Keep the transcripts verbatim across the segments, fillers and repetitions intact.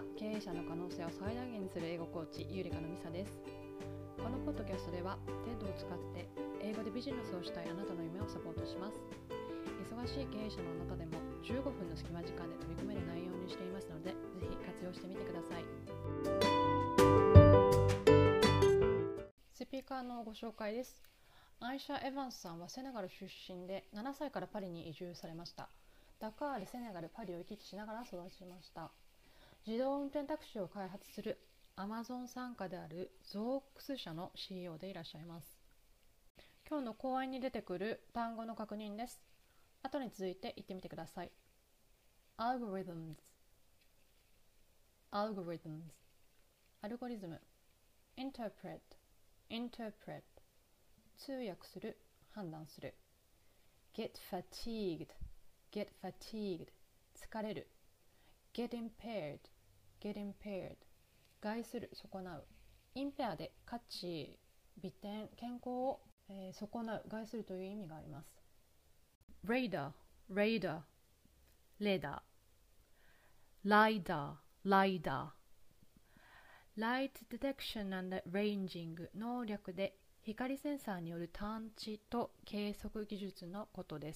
は経営者の可能性を最大限にする英語コーチゆりかのみさです。このポッドキャストでは テッド を使って英語でビジネスをしたいあなたの夢をサポートします。忙しい経営者のあなたでもじゅうごふんの隙間時間で取り組める内容にしていますので、ぜひ活用してみてください。スピーカーのご紹介です。アイシャ・エヴァンスさんはセネガル出身でななさいからパリに移住されました。ダカール、セネガル、パリを行き来しながら育ちました。自動運転タクシーを開発するアマゾン傘下であるゾーックス社の シーイーオー でいらっしゃいます。今日の講演に出てくる単語の確認です。後に続いて言ってみてください。Algorithms Algorithms アルゴリズム Interpret Interpret 通訳する、判断する。 Get fatigued Get fatigued 疲れる。 Get impaired Get impaired 害する、損なう。 Impair で価値、美点、健康を、えー、損なう、害するという意味があります。 Radar Radar レーダー。 LiDAR LiDAR Light Detection and Ranging 能略で光センサーによる探知と計測技術のことです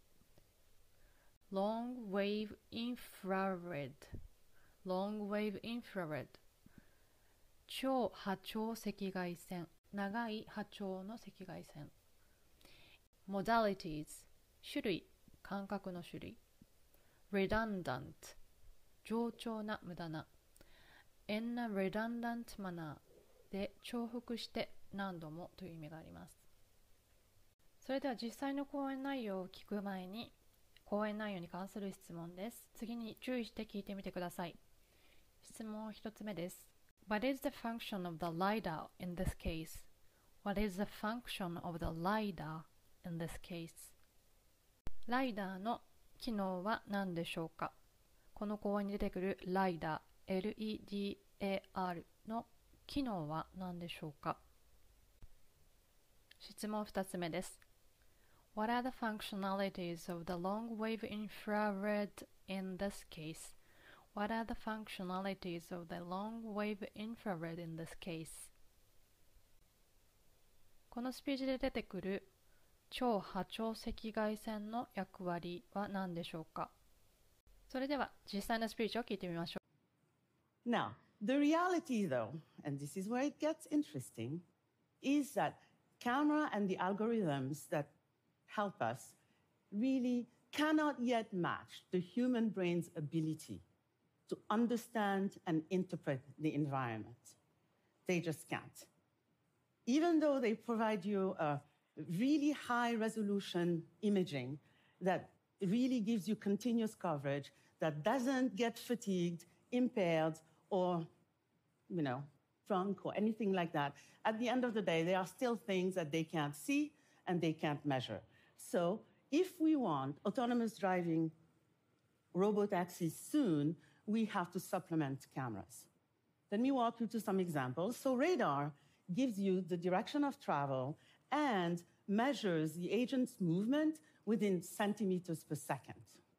。Long Wave Infrared Long Wave Infrared 超波長赤外線、長い波長の赤外線。 Modalities 種類、感覚の種類。 Redundant 冗長な、無駄な。 In a redundant manner で重複して何度もという意味があります。それでは実際の講演内容を聞く前に、講演内容に関する質問です。次に注意して聞いてみてください。質問一つ目です。 What is the function of the LiDAR in this case? What is the function of the LiDAR in this case? ライダーの機能は何でしょうか。この講演に出てくるライダー、エルイーディーエーアール の機能は何でしょうか。質問二つ目です。What are the functionalities of the long-wave infrared in this case? What are the functionalities of the long-wave infrared in this case? このスピーチで出てくる超波長赤外線の役割は何でしょうか。それでは実際のスピーチを聞いてみましょう。Now, the reality though, and this is where it gets interesting, is that camera and the algorithms that help us really cannot yet match the human brain's ability to understand and interpret the environment. They just can't. Even though they provide you a really high resolution imaging that really gives you continuous coverage, that doesn't get fatigued, impaired, or, you know, drunk or anything like that, at the end of the day, there are still things that they can't see and they can't measure. So if we want autonomous driving robotaxis soon, we have to supplement cameras. Let me walk you through some examples. So radar gives you the direction of travel and measures the agent's movement within centimeters per second.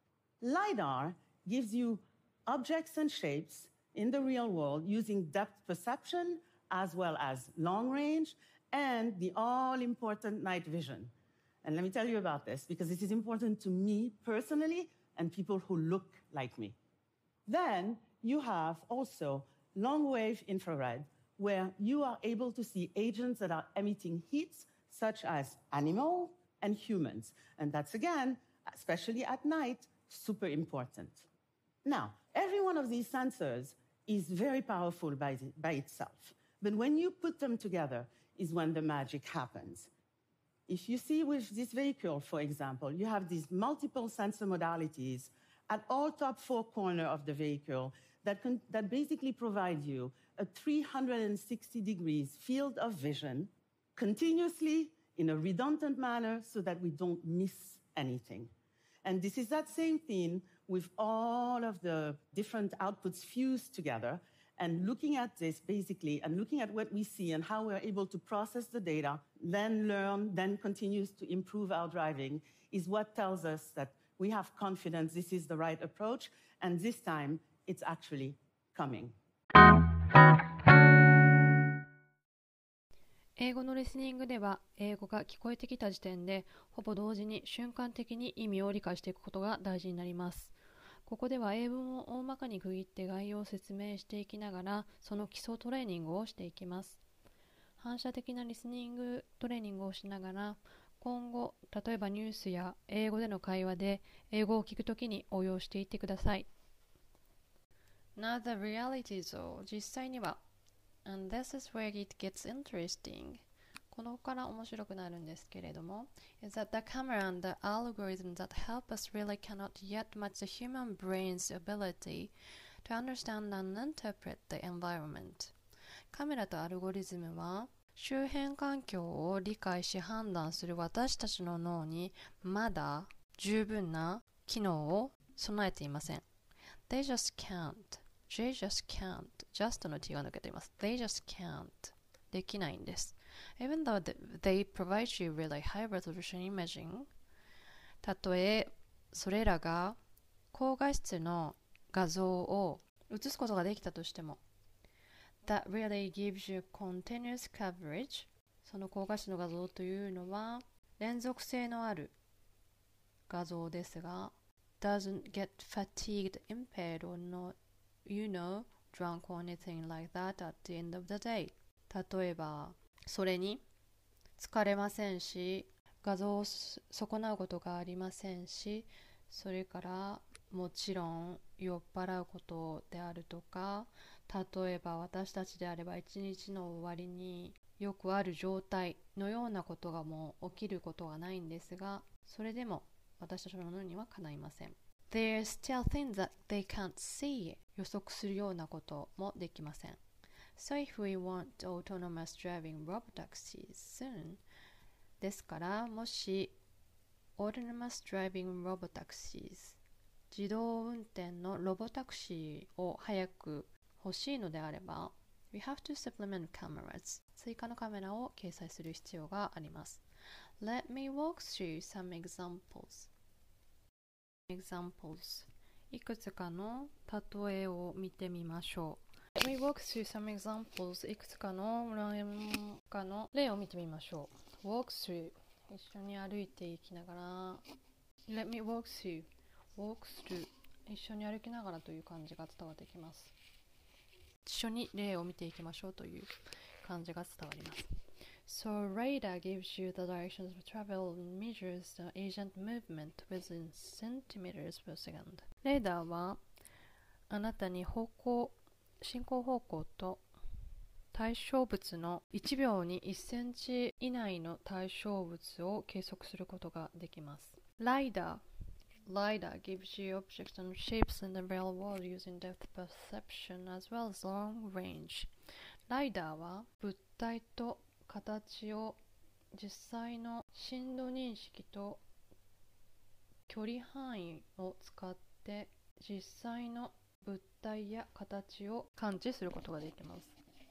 LiDAR gives you objects and shapes in the real world using depth perception as well as long range and the all-important night vision. And let me tell you about this because this is important to me personally and people who look like me. Then you have also long-wave infrared, where you are able to see agents that are emitting heat, such as animals and humans. And that's, again, especially at night, super important. Now, every one of these sensors is very powerful by, the, by itself. But when you put them together is when the magic happens. If you see with this vehicle, for example, you have these multiple sensor modalities at all top four corners of the vehicle that, can, that basically provide you a three hundred sixty degrees field of vision continuously in a redundant manner so that we don't miss anything. And this is that same thing with all of the different outputs fused together and looking at this basically and looking at what we see and how we're able to process the data, then learn, then continues to improve our driving is what tells us that we have confidence this is the right approach, and this time it's actually coming. 英語のリスニングでは、英語が聞こえてきた時点で、ほぼ同時に瞬間的に意味を理解していくことが大事になります。ここでは英文を大まかに区切って概要を説明していきながら、その基礎トレーニングをしていきます。反射的なリスニングトレーニングをしながら、今後、例えばニュースや英語での会話で英語を聞くときに応用していってください。Now the reality is 実際にはAnd this is where it gets interesting. このから面白くなるんですけれども is that the camera and the algorithm that help us really cannot yet match the human brain's ability to understand and interpret the environment. カメラとアルゴリズムは周辺環境を理解し判断する私たちの脳にまだ十分な機能を備えていません。They just can't.They just can't. just の t が抜けています。They just can't. できないんです。Even though they provide you really high resolution imaging. たとえそれらが高画質の画像を映すことができたとしても That really gives you continuous coverage. その高画質の画像というのは連続性のある画像ですが doesn't get fatigued, impaired or not.You know, drunk or anything like that at the end of the day. 例えば、それに疲れませんし、画像を損なうことがありませんし、それからもちろん酔っ払うことであるとか、例えば私たちであれば一日の終わりによくある状態のようなことがもう起きることがないんですが、それでも私たちの脳にはかないません。There are still things that they can't see. 予測するようなこともできません。So if we want autonomous driving robotaxis soon, ですからもし autonomous driving robotaxis 自動運転のロボタクシーを早く欲しいのであれば we have to supplement cameras 追加のカメラを掲載する必要があります。Let me walk through some examples examples いくつかの例えを見てみましょう。Let me walk through some examples いくつかのかの例を見てみましょう。walk through 一緒に歩いていきながら Let me walk through walk through 一緒に歩きながらという感じが伝わってきます。一緒に例を見ていきましょうという感じが伝わります。So radar gives you the directions of travel and measures the agent movement within centimeters per second. レーダーはあなたに方向、進行方向と対象物のいちびょうにいちセンチ以内の対象物を計測することができます。LiDAR LiDAR gives you objects and shapes in the real world using depth perception as well as long range. LiDAR は物体と形を実際の深度認識と距離範囲を使って実際の物体や形を感知することができます。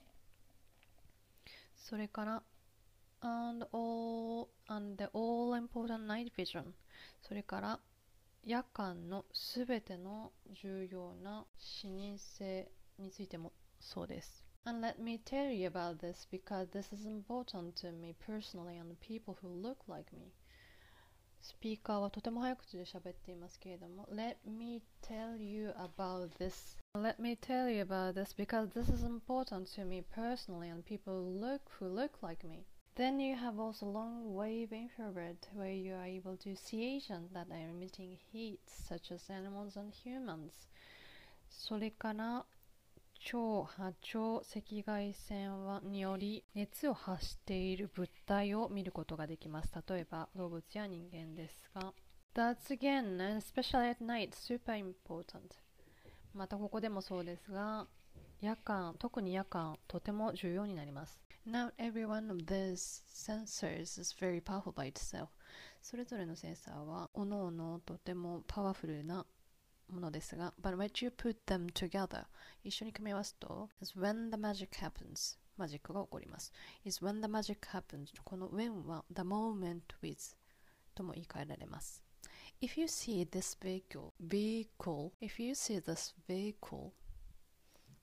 それから and all, and the all important night vision それから夜間のすべての重要な視認性についてもそうです。And let me tell you about this because this is important to me personally and people who look like me. スピーカーはとても早口で喋っていますけれども Let me tell you about this. Let me tell you about this because this is important to me personally and people who look, who look like me. Then you have also long wave infrared where you are able to see agents that are emitting heat such as animals and humans. それから超波長赤外線により熱を発している物体を見ることができます。例えば動物や人間ですが That's again, and especially at night, super important. またここでもそうですが夜間、特に夜間とても重要になります。Not every one of these sensors is very powerful by itself. それぞれのセンサーは各々とてもパワフルなものですが But when you put them together 一緒に組み合わすと is when the magic happens マジックが起こります is when the magic happens この when は the moment with とも言い換えられます If you see this vehicle vehicle if you see this vehicle こ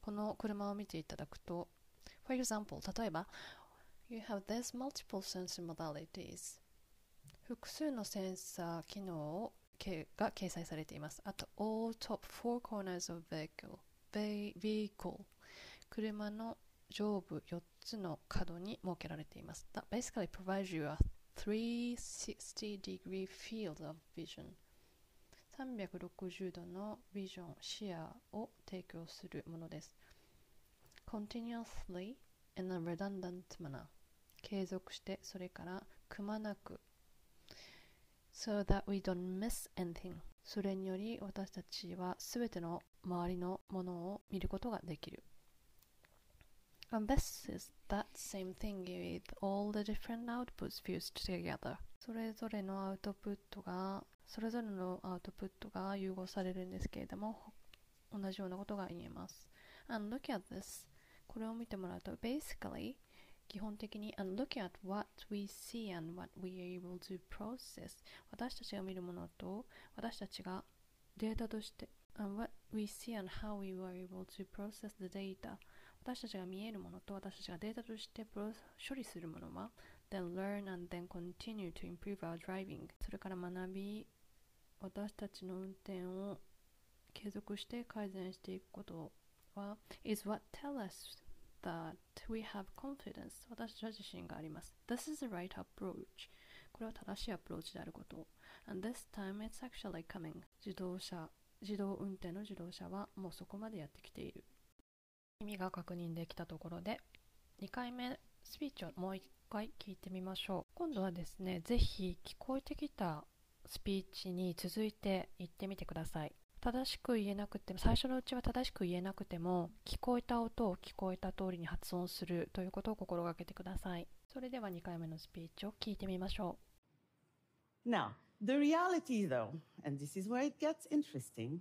この車を見ていただくと、For example、例えば、You have these multiple sensor modalities。複数のセンサー機能をが掲載されています。あと、all top four corners of vehicle。vehicle。車の上部よっつの角に設けられています。That basically provides you a three hundred sixty degree field of vision。さんびゃくろくじゅうどのビジョン、視野を提供するものです。Continuously in a redundant manner。継続して、それからくまなく。So that we don't miss anything。それにより私たちはすべての周りのものを見ることができる。And this is that same thing with all the different outputs fused together。それぞれのアウトプットが、それぞれのアウトプットが融合されるんですけれども、同じようなことが言えます。And look at this。これを見てもらうと、basically、基本的に and look at what we see and what we are able to process。私たちが見るものと、私たちがデータとして、and what we see and how we were able to process the data。私たちが見えるものと私たちがデータとして処理するものは then learn and then continue to improve our driving。 それから学び、私たちの運転を継続して改善していくことは is what tell us that we have confidence。 私たち自身があります。 This is the right approach。 これは正しいアプローチであること。 and this time it's actually coming。 自動車自動運転の自動車はもうそこまでやってきている。意味が確認できたところで、にかいめスピーチをもういっかい聞いてみましょう。今度はですね、ぜひ聞こえてきたスピーチに続いて言ってみてください。正しく言えなくても、最初のうちは正しく言えなくても、聞こえた音を聞こえた通りに発音するということを心がけてください。それではにかいめのスピーチを聞いてみましょう。Now, the reality though, and this is where it gets interesting,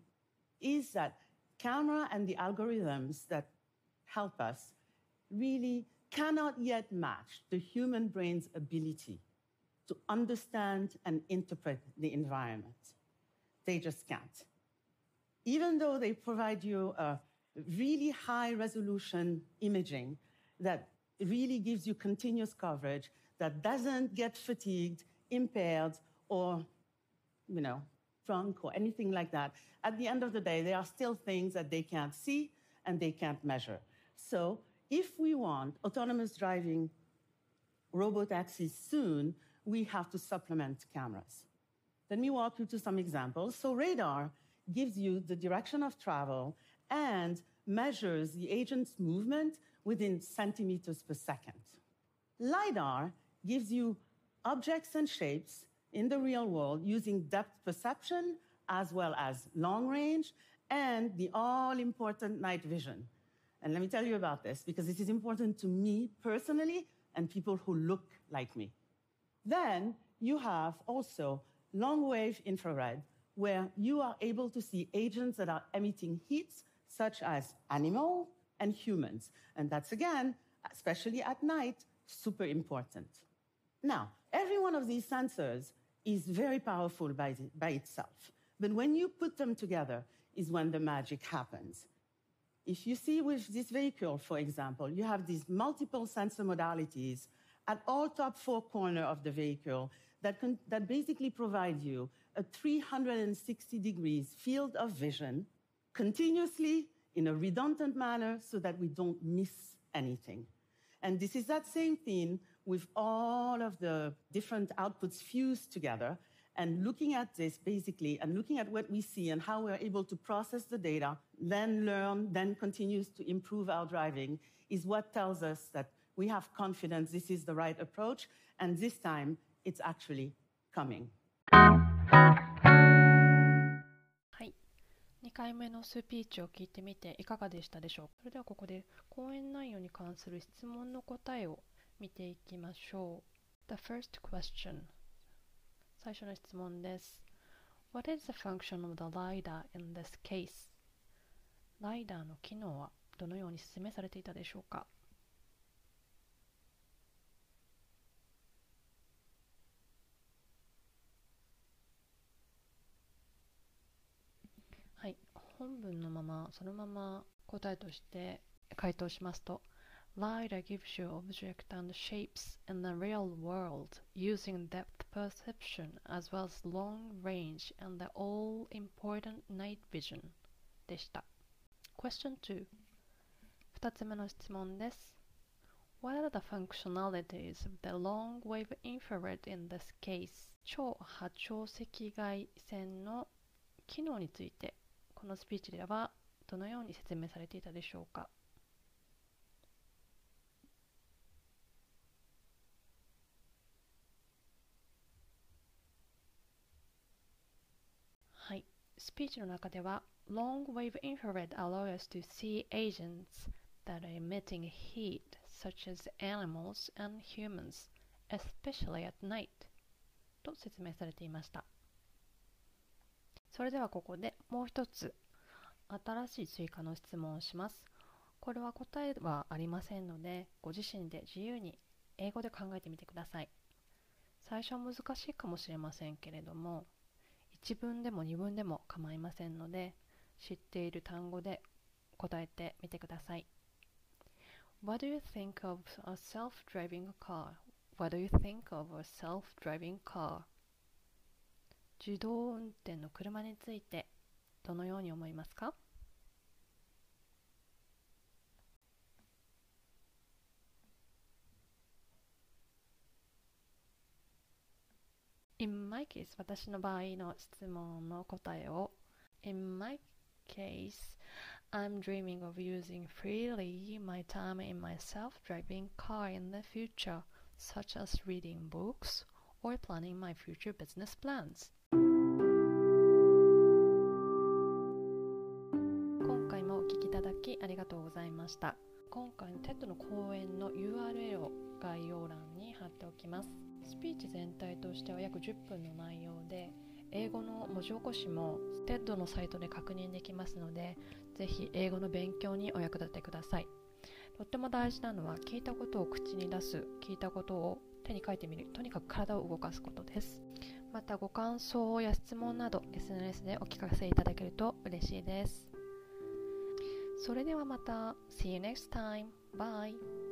is that camera and the algorithms that help us really cannot yet match the human brain's ability to understand and interpret the environment. They just can't. Even though they provide you a really high resolution imaging that really gives you continuous coverage, that doesn't get fatigued, impaired, or, you know, drunk or anything like that, at the end of the day, there are still things that they can't see and they can't measure. So if we want autonomous driving robotaxis soon, we have to supplement cameras. Let me walk you through some examples. So radar gives you the direction of travel and measures the agent's movement within centimeters per second. LiDAR gives you objects and shapes in the real world using depth perception as well as long range and the all-important night vision. And let me tell you about this, because this is important to me personally and people who look like me. Then you have also long-wave infrared, where you are able to see agents that are emitting heat, such as animals and humans. And that's, again, especially at night, super important. Now, every one of these sensors is very powerful by, the, by itself. But when you put them together is when the magic happens. If you see with this vehicle, for example, you have these multiple sensor modalities at all top four corners of the vehicle that, can, that basically provide you a three hundred sixty degrees field of vision continuously in a redundant manner so that we don't miss anything. And this is that same thing with all of the different outputs fused together. And looking at this, basically, and looking at what we see and how we're able to process the data, then learn, then continues to improve our driving, is what tells us that we have confidence this is the right approach, and this time, it's actually coming. はい。にかいめのスピーチを聞いてみていかがでしたでしょうか。それではここで講演内容に関する質問の答えを見ていきましょう。The first question。最初の質問です。What is the function of the LiDAR in this case? ライダーの機能はどのように説明されていたでしょうか。はい、 本文のままそのまま答えとして回答しますと、 LiDAR gives you object and shapes in the real world using depth perception as well as long range and the all-important night vision でした。 Question に、 ふたつめの質問です。 What are the functionalities of the long-wave infrared in this case? 超波長赤外線の機能についてこのスピーチではどのように説明されていたでしょうか。はい、スピーチの中では Long wave infrared allows us to see agents that are emitting heat such as animals and humans, especially at night と説明されていました。それではここでもう一つ新しい追加の質問をします。これは答えはありませんので、ご自身で自由に英語で考えてみてください。最初は難しいかもしれませんけれども、一文でも二文でも構いませんので、知っている単語で答えてみてください。What do you think of a self-driving car? What do you think of a self-driving car? 自動運転の車についてどのように思いますか？ In my case、 私の場合の質問の答えを In my case, I'm dreaming of using freely my time in my self-driving car in the future, such as reading books or planning my future business plans. 今回もお聞きいただきありがとうございました。今回の テッド の講演の ユーアールエル を概要欄に貼っておきます。スピーチ全体としては約じゅっぷんの内容で、英語の文字起こしも テッド のサイトで確認できますので、ぜひ英語の勉強にお役立てください。とっても大事なのは聞いたことを口に出す、聞いたことを手に書いてみる、とにかく体を動かすことです。またご感想や質問など エスエヌエス でお聞かせいただけると嬉しいです。それではまた。See you next time. Bye.